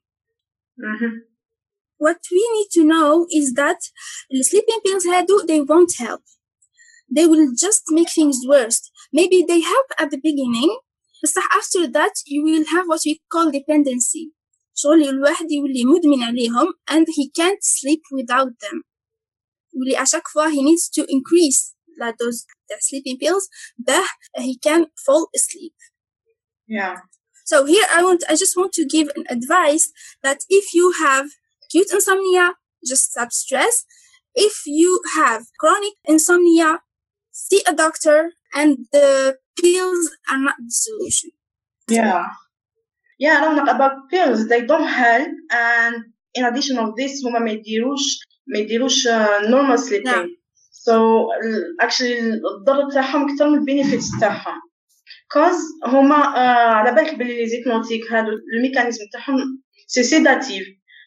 What we need to know is that the sleeping pills they won't help. They will just make things worse. Maybe they help at the beginning, but after that you will have what we call dependency. شغل الواحد يولي مدمن عليهم and he can't sleep without them. يولي à chaque fois he needs to increase la dose of sleeping pills but he can fall asleep. Yeah. So here I just want to give an advice that if you have acute insomnia, just stop stress. If you have chronic insomnia, see a doctor, and the pills are not the solution. Yeah, about pills, they don't help, and in addition of this, هما ما يديروش normal sleeping. Yeah. So actually الضرر تاعهم أكثر من benefits تاعهم. cause هما على بالك باللي لي زيبنوتيك هادو الميكانيزم تاعهم سي سيداتيف,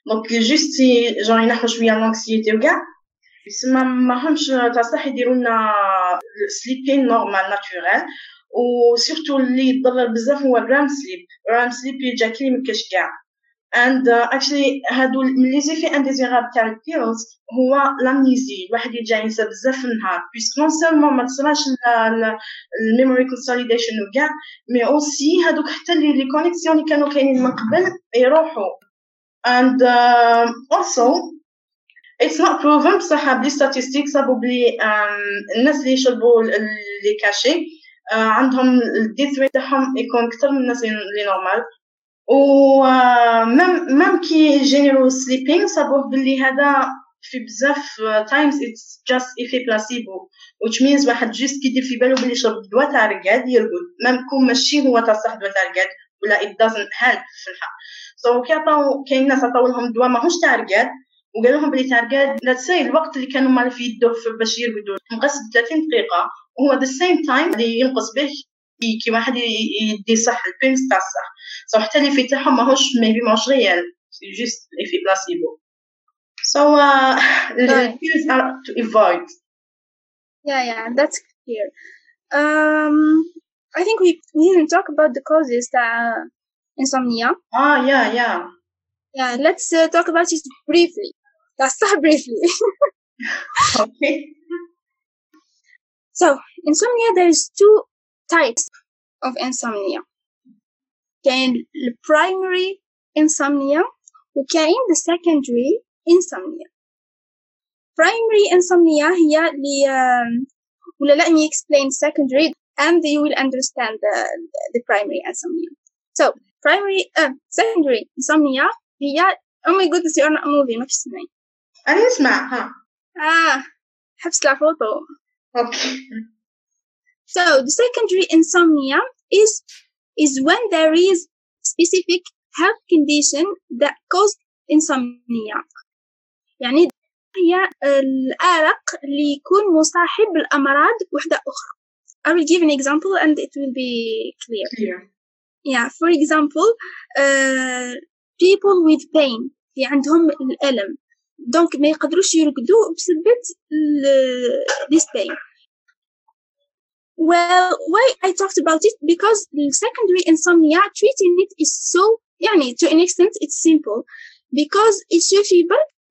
دونك جوست جون ينحو شويه لانكسيتي وكاع يسمى ماهمش تصح يديروا لنا سليبين نورمال ناتورال وسورتو اللي يضرر بزاف هو الرام سليب يجا كلي مكاش كاع and actually هادو من لي زيفي انديزيرابل تاع البيلز هو لامنيزي الواحد يرجع ينسى بزاف في النهار بيسك نون سيرمون ما تصراش الميموري كونسوليديشن وكاع مي اوسي هادوك حتى لي كونيكسيون اللي كانوا كاينين من قبل يروحوا and also it's not proven بصح بلي statistics صابوا بلي الناس اللي يشربوا لي كاشي عندهم الديث ريت تاعهم يكون اكثر من الناس اللي نورمال و مام كي جينيرو سليبينغ صابوه بلي هذا في بزاف تايمز اتس جاست ايفي بلاسيبو which means واحد جيست كيدير في بالو بلي يشرب دواء تاع رقاد يرقد مام كون ماشي هو تاع صح دواء تاع رقاد ولا it doesn't help في الحق سو كي عطاو كاين ناس عطاو لهم دواء ماهوش تاع رقاد وقالوا لهم بلي تاع رقاد لا تسي الوقت اللي كانوا مال في يدوه باش يرقدوا نقص 30 دقيقه وهو the same time اللي ينقص به كي واحد يدي صح البيلز تاع الصح سو حتى اللي في تاعهم ماهوش ريال جوست في بلاسيبو سو البيلز are to avoid. Yeah, that's clear. I think we didn't talk about the causes تاع insomnia. Yeah, let's talk about it briefly. That's briefly. Okay. So, insomnia, there is two types of insomnia. كاين primary insomnia وكاين the secondary insomnia. Primary insomnia هي اللي ولا let me explain secondary and you will understand the primary insomnia. So, secondary insomnia هي oh my goodness you're not moving ما تسمعين. أنا أسمع ها. حبس الفوتو. Okay. So the secondary insomnia is when there is specific health condition that cause insomnia. يعني هي الأرق اللي يكون مصاحب بالأمراض وحدة أخرى. I will give an example and it will be clear. Yeah, for example, people with pain اللي عندهم الألم دونك ما يقدروش يرقدوا بسبب this pain. Well, why I talked about it? Because the secondary insomnia, treating it is so, to an extent, it's simple. Because il suffit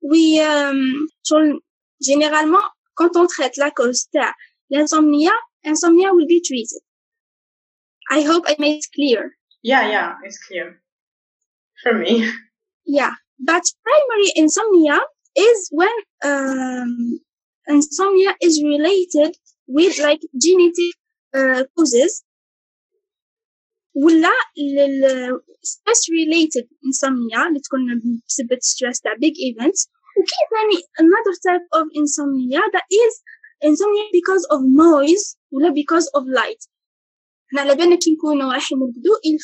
généralement, quand on traite la cause de l'insomnia will be treated. I hope I made it clear. Yeah, it's clear. For me. Yeah, but primary insomnia is when insomnia is related with like genetic causes ولا stress related insomnia اللي تكون بسبب stress تاع big events وكاين ثاني another type of insomnia that is insomnia because of noise ولا because of light. احنا على بالنا كي نكونوا رايحين نرقدوا il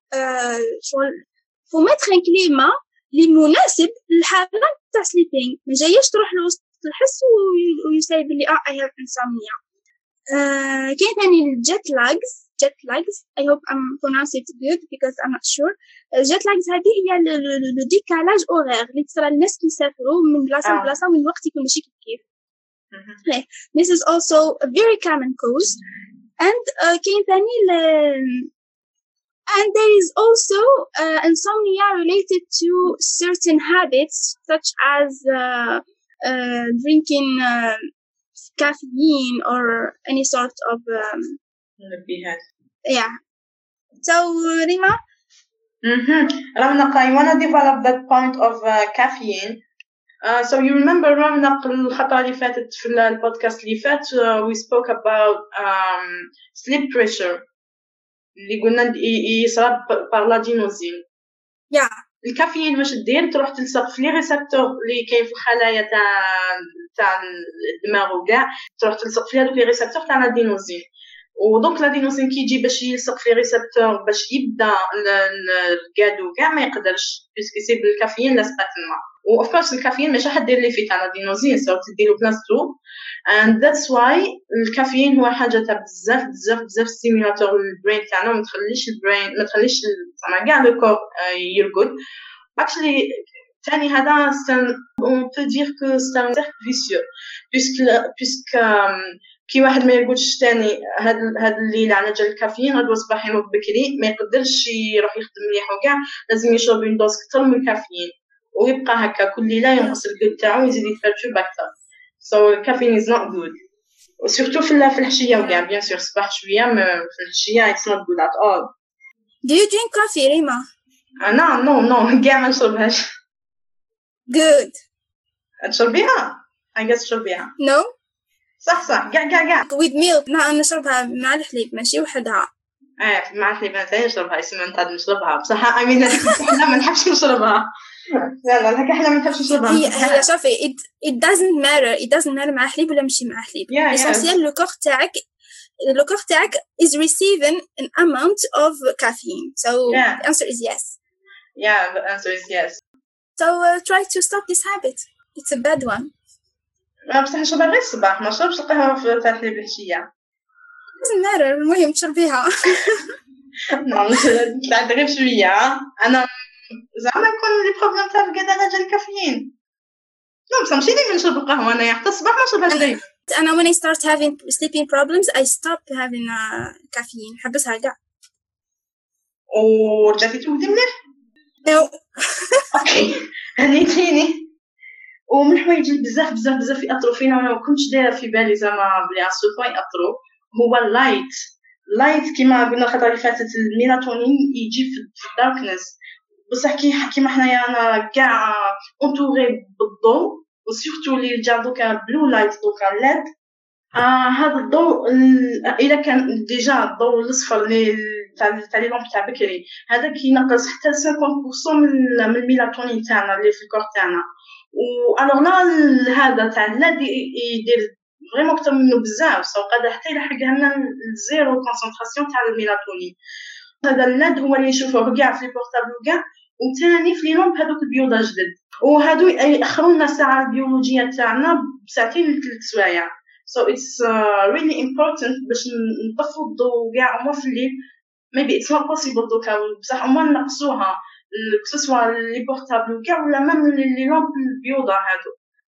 faut mettre un climat اللي مناسب للحالة تاع sleeping ما جايش تروح لوسط الحس ويسايب لي I have insomnia. كاين ثاني الjet lags I hope I'm pronouncing it good because I'm not sure. jet lags هذه هي le décalage horaire اللي تصرى للناس كي يسافروا من بلاصة لبلاصة وين الوقت يكون ماشي كيف. This is also a very common cause and كاين ثاني and there is also insomnia related to certain habits such as drinking caffeine or any sort of yeah. So Rima, Ramnaq, I want to develop that point of caffeine. So you remember Ramnaq الخطرة اللي فاتت في البودكاست اللي فات we spoke about sleep pressure اللي قلنا يصرب بالادينوزين. Yeah. الكافيين واش دير تروح تلصق في لي ريسبتور اللي كاين في الخلايا تاع الدماغ وكاع تروح تلصق في هذوك لي ريسبتور تاع الادينوزين ودونك الادينوزين كي يجي باش يلصق في ريسبتور باش يبدا الرقاد وكاع ما يقدرش باسكو يصيب الكافيين لاصقه تما و اوف كورس الكافيين ماشي حد يدير لي في تاع الادينوزين سو تديرو بلاصتو and that's why الكافيين هو حاجه تاع بزاف ستيمولاتور للبرين تاعنا ما تخليش كاع لو كور يرقد actually ثاني هذا on peut dire que c'est un cercle vicieux puisque كي واحد ما يقولش ثاني هاد الليل على جال الكافيين غدوى صباح ينوض بكري ما يقدرش يروح يخدم مليح وكاع لازم يشرب اون دوز كثر من الكافيين ويبقى هكا كل ليله ينقص الجود تاعو ويزيد يتفرجو اكثر so caffeine is not good وسورتو في الحشيه وكاع بيان سور صباح شويه في الحشيه it's not good at all. Do you drink coffee, Rima? No كاع ما نشربهاش. Good. تشربيها؟ I guess تشربيها. No. صح كاع with milk. لا نشربها مع الحليب ماشي وحدها. مع الحليب أنا ثاني نشربها اسمها نتاع نشربها بصح I mean احنا ما نحبش نشربها. لا هكا احنا ما نحبش نشربها. هي شوفي it doesn't matter مع حليب ولا ماشي مع حليب. essentiel le corps تاعك is receiving an amount of caffeine. So the answer is yes. Yeah, the answer is yes. So try to stop this habit. It's a bad one. بصح نشربها غير الصباح ما نشربش القهوة في الحليب العشية. doesn't matter المهم تشربيها. نطلع غير شوية أنا زعما يكون لي بروبليم تاع القعدة على جال الكافيين. لا بصح ماشي ديما نشرب القهوة أنا حتى الصباح ما نشربهاش دايما. أنا when I start having sleeping problems I stop having caffeine حبسها كاع. ورجعتي تودي مليح؟ No. أوكي هنيتيني. ومن الحوايج اللي بزاف يأثروا فينا وانا ما كنتش دايره في بالي زعما بلي اسوفا يأثروا هو اللايت كيما قلنا الخطره اللي فاتت الميلاتونين يجي في الداركنس بصح كيما حنايا انا كاع اونتوري بالضوء وسورتو اللي جا دوكا بلو لايت دوكا ليد هذا الضوء الا كان ديجا الضوء الاصفر اللي تاع لي لامب تاع بكري هذا كينقص حتى 50% من الميلاتونين تاعنا اللي في الكور تاعنا والوغ لا هذا تاع الليد يدير فريمون اكثر منه بزاف سو قادر حتى يلحق لنا الزيرو كونسونطراسيون تاع الميلاتونين هذا الليد هو اللي نشوفوه كاع في البورطابل وكاع وثاني في لي لامب هذوك البيوضه جدد وهادو ياخروا لنا الساعه البيولوجيه تاعنا بساعتين لثلاث سوايع so it's really important باش نطفوا الضوء كاع وما في الليل maybe it's not possible دوكا بصح وما نقصوها كسوا لي بورطابل وكاع ولا ميم لي لامب البيوضه هادو.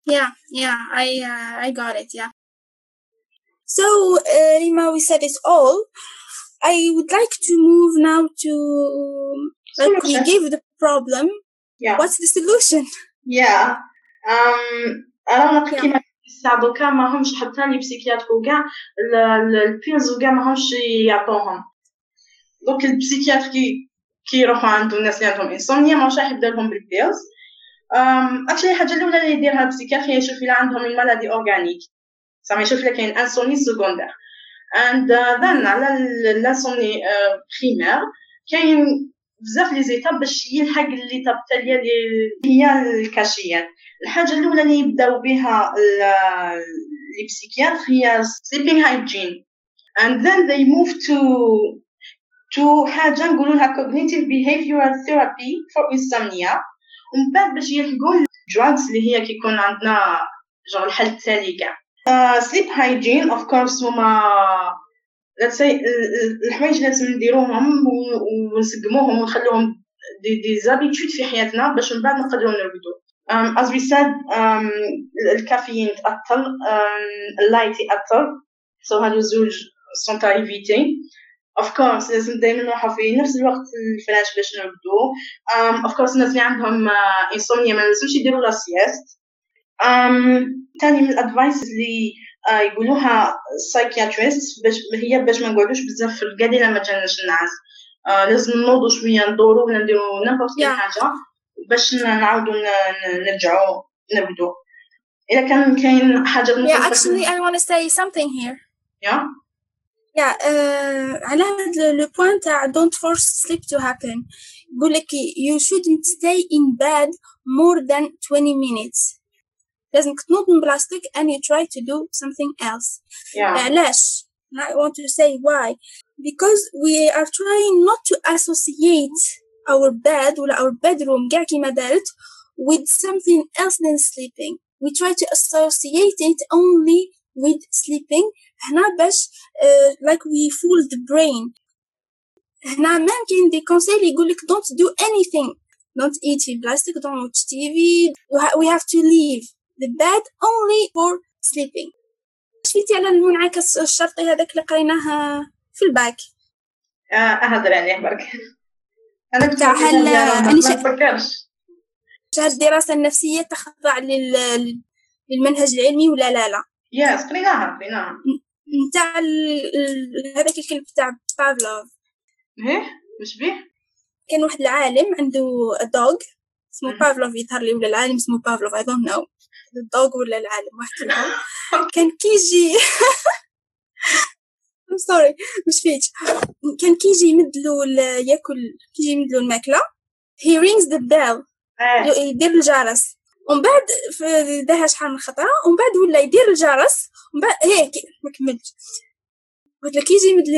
I got it. Yeah. So Rima, we said it all. I would like to move now to like we gave the problem. Yeah. What's the solution? Yeah. أنا كيما دوكا ما همش حتى لي بسيكياتر وكاع البيلز وكاع ما همش يعطوهم. دونك البسيكياتر كي يروحوا عند الناس اللي عندهم انسومنيا ماش راح يبدا لهم بالبيلز اكشلي الحاجه الاولى اللي يديرها البسيكياتر هي يشوف الا عندهم المالادي اورغانيك زعما يشوف الا كاين انسومني سكوندير اند ذن على الانسومني بريمير كاين بزاف لي زيتاب باش يلحق ليتاب التاليه اللي هي الكاشيات الحاجه الاولى اللي يبداو بها لي بسيكياتر هي sleeping hygiene and then they move to حاجة نقولوا لها cognitive behavioral therapy for insomnia ومن بعد باش يلحقوا drugs اللي هي كيكون عندنا جور الحل التالي كاع sleep hygiene of course هما let's say الحوايج اللي لازم نديروهم ونسقموهم ونخلوهم دي زابيتود في حياتنا باش من بعد نقدروا نرقدوا as we said الكافيين تأثر اللايت يأثر so هادو زوج sont à éviter of course لازم دائما نروحوا في نفس الوقت الفراش باش نرقدوا of course الناس اللي عندهم insomnia ما لازمش يديروا لا سيست ثاني من الادفايس اللي يقولوها psychiatrists باش ما نقعدوش بزاف في القعده لما جاناش النعاس لازم نوضوا شويه ندوروا ولا نديروا نيمبورت حاجه باش نعاودوا نرجعوا نرقدوا اذا كان كاين حاجه actually I want to say something here. على هذا le point تاع don't force sleep to happen يقول لك you shouldn't stay in bed more than 20 minutes لازمك تنوض من بلاصتك and you try to do something else. علاش I want to say why because we are trying not to associate our bed ولا our bedroom كاع كيما دارت with something else than sleeping. We try to associate it only with sleeping هنا باش like we fool the brain. هنا ممكن دي كونسيل يقولك don't do anything don't eat في plastic, don't watch TV. We have to leave the bed only for sleeping. شفيتي على المنعكس الشرطي هذاك اللي قريناه في الباك؟ أهدر عليه برك. أنا كنت ما نفكرش. الدراسة النفسية تخضع للمنهج العلمي ولا لا؟ يس قريناها. نتاع هذاك الكلب تاع بافلوف. إيه مش بيه؟ كان واحد العالم عنده دوغ اسمه بافلوف، يظهر لي، ولا العالم اسمه بافلوف I don't know، الدوغ ولا العالم واحد منهم. كان كيجي I'm sorry مش فيك، كان كيجي يمدلو ياكل، كيجي يمدلو الماكلة he rings the bell، يدير الجرس، ومن بعد داها شحال من خطرة، ومن بعد ولا يدير الجرس، ومن بعد هيك ما كملتش، قلت لك كيجي يمدلو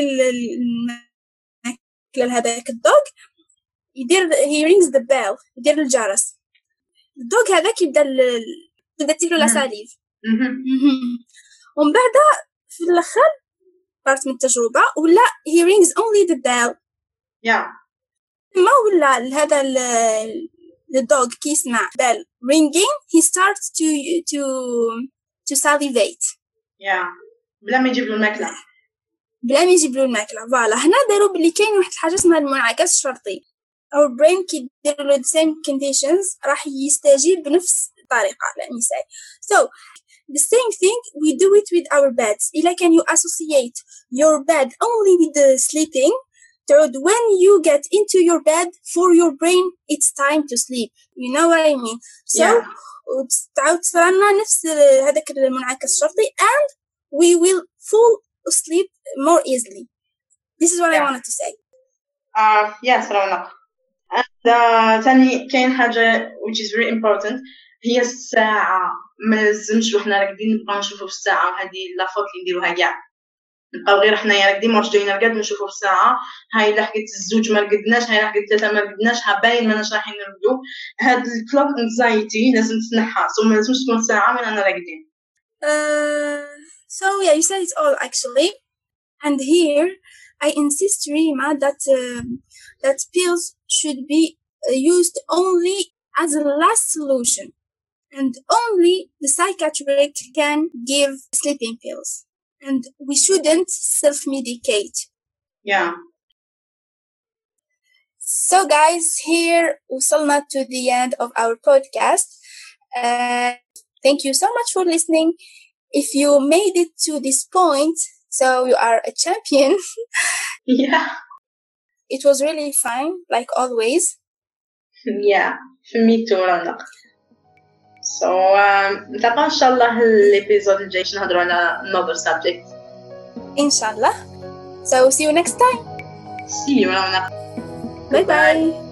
الماكلة لهذاك الدوغ يدير he rings the bell، يدير الجرس، الدوغ هذاك يبدا تاكلو لاساليف، ومن بعد في الاخر بارت من التجربه ولا he rings only the bell. ما ولا هذا الدوغ كي يسمع bell ringing he starts to salivate. بلا ما يجيب له الماكله. فوالا هنا داروا بلي كاين واحد الحاجه اسمها المنعكس الشرطي. our brain كي يدير له the same conditions راح يستجيب بنفس الطريقه. let me say so the same thing we do it with our beds. إلا can you associate your bed only with the sleeping, تعود when you get into your bed for your brain it's time to sleep. You know what I mean? So تعود صرنا نفس هذاك المنعكس الشرطي and we will fall asleep more easily. This is what I wanted to say. Yes, رونق. and ثاني كاين حاجة which is very important هي الساعة. ما لازمش وحنا راقدين نبقاو نشوفوا في الساعة، وهذه لافوت اللي نديروها كاع، نبقاو غير حنايا راقدين مرش جايين نرقد نشوفوا في الساعة، هاي لا حكيت الزوج ما رقدناش، هاي لا حكيت ثلاثة ما رقدناش، ها باين ماناش رايحين نرقدو. هاد الكلوك انزايتي لازم تنحى، ما لازمش تكون ساعة من أنا راقدين. So yeah, you said it all actually, and here I insist Rima that pills should be used only as a last solution, and only the psychiatric can give sleeping pills, and we shouldn't self-medicate. So guys, here وصلنا to the end of our podcast. Thank you so much for listening. If you made it to this point, so you are a champion. It was really fun, like always. For me too, Rana. So نتلاقاو إن شاء الله الإبيزود الجاي نهضروا على another subject. إن شاء الله. So see you next time. See you, Rana. Bye bye.